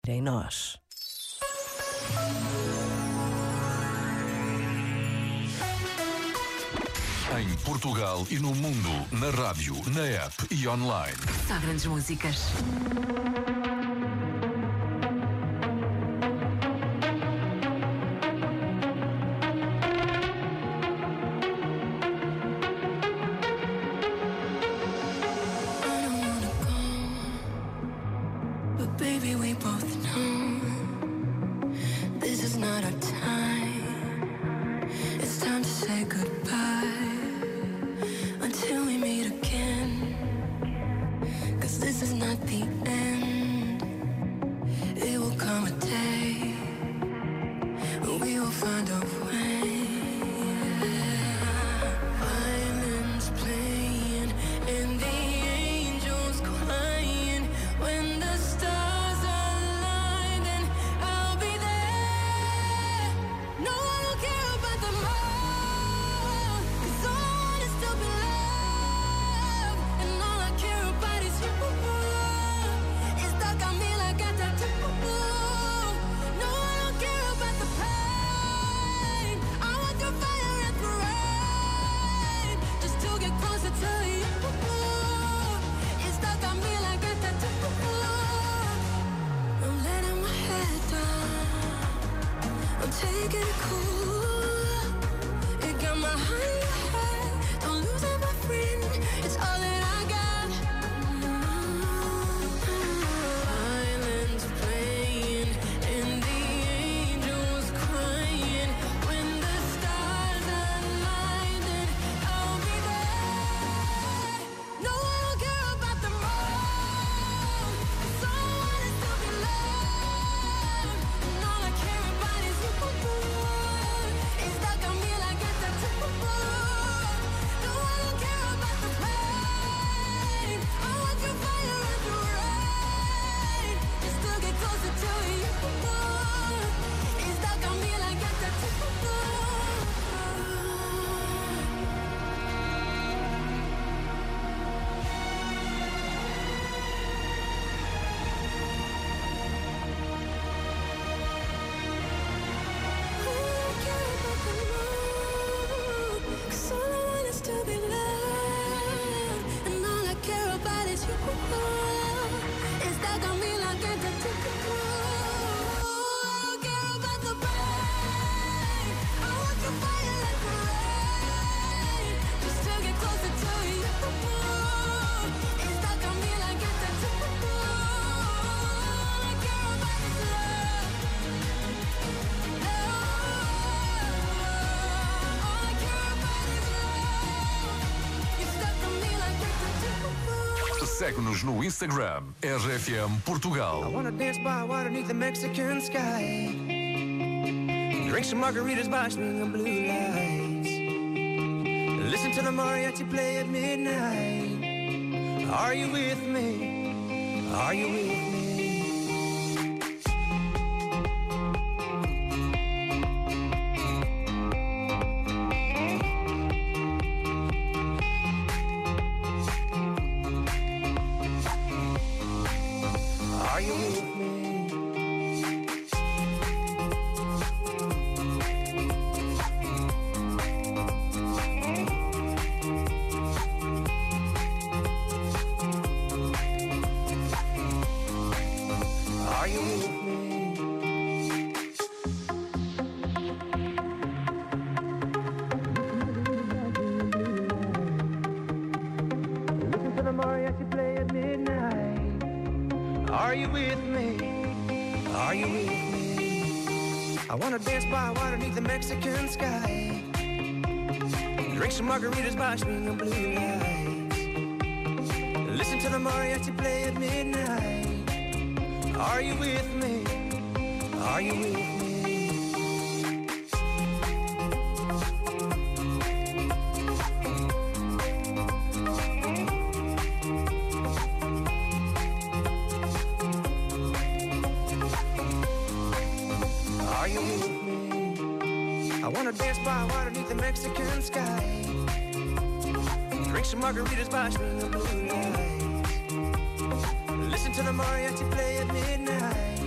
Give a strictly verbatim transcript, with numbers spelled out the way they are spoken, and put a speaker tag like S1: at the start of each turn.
S1: em nós.
S2: Em Portugal e no mundo, na rádio, na app e online.
S3: Só grandes músicas.
S4: Baby, we both know this is not our time. It's time to say goodbye until we meet again. 'Cause this is not the end. It will come a day when we will find a way. Violins playing and the angels crying. When the stars align, then I'll be there. No one will care about the more, 'cause all I want is to be loved, and all I care about is you. It's stuck on me like a tattoo. No one will care about the pain. I want the fire and the rain, just to get closer to you. It's stuck on me like a tattoo. I'm letting my head down, I'm taking it cool. It got my heart in your head, don't lose it, my friend. It's all that I got. Violins playing and the angels crying. When the stars align, then I'll be there. No one will care about the more, 'cause all I want is to be loved, and all I care about is you. It's stuck on me like a tattoo. No one will care about the pain. I want your fire and your rain, just to get closer to you. It's stuck on me like a tattoo. Cause all I want is to be loved, and all I care about is you. It's stuck on me like a tattoo. I don't care about the pain. I want your fire like the rain, just to get closer to you. It's stuck on me like a tattoo. All I care about is love. All I care about is love. It's stuck on me like a tattoo.
S2: Segue-nos no Instagram, R F M Portugal.
S5: I wanna dance by water beneath the Mexican sky. Drink some margaritas by swinging blue lights. Listen to the mariachi play at midnight. Are you with me? Are you with me? Are you with me? Are you with me? Listen to the mariachi play at midnight. Are you with me? Are you with me? I wanna dance by water beneath the Mexican sky. Drink some margaritas by swinging blue lights. Listen to the mariachi play at midnight. Are you with me? Are you with me? Are you with me? I wanna dance by water beneath the Mexican sky. Drink some margaritas by swinging blue lights. Listen to the mariachi play at midnight.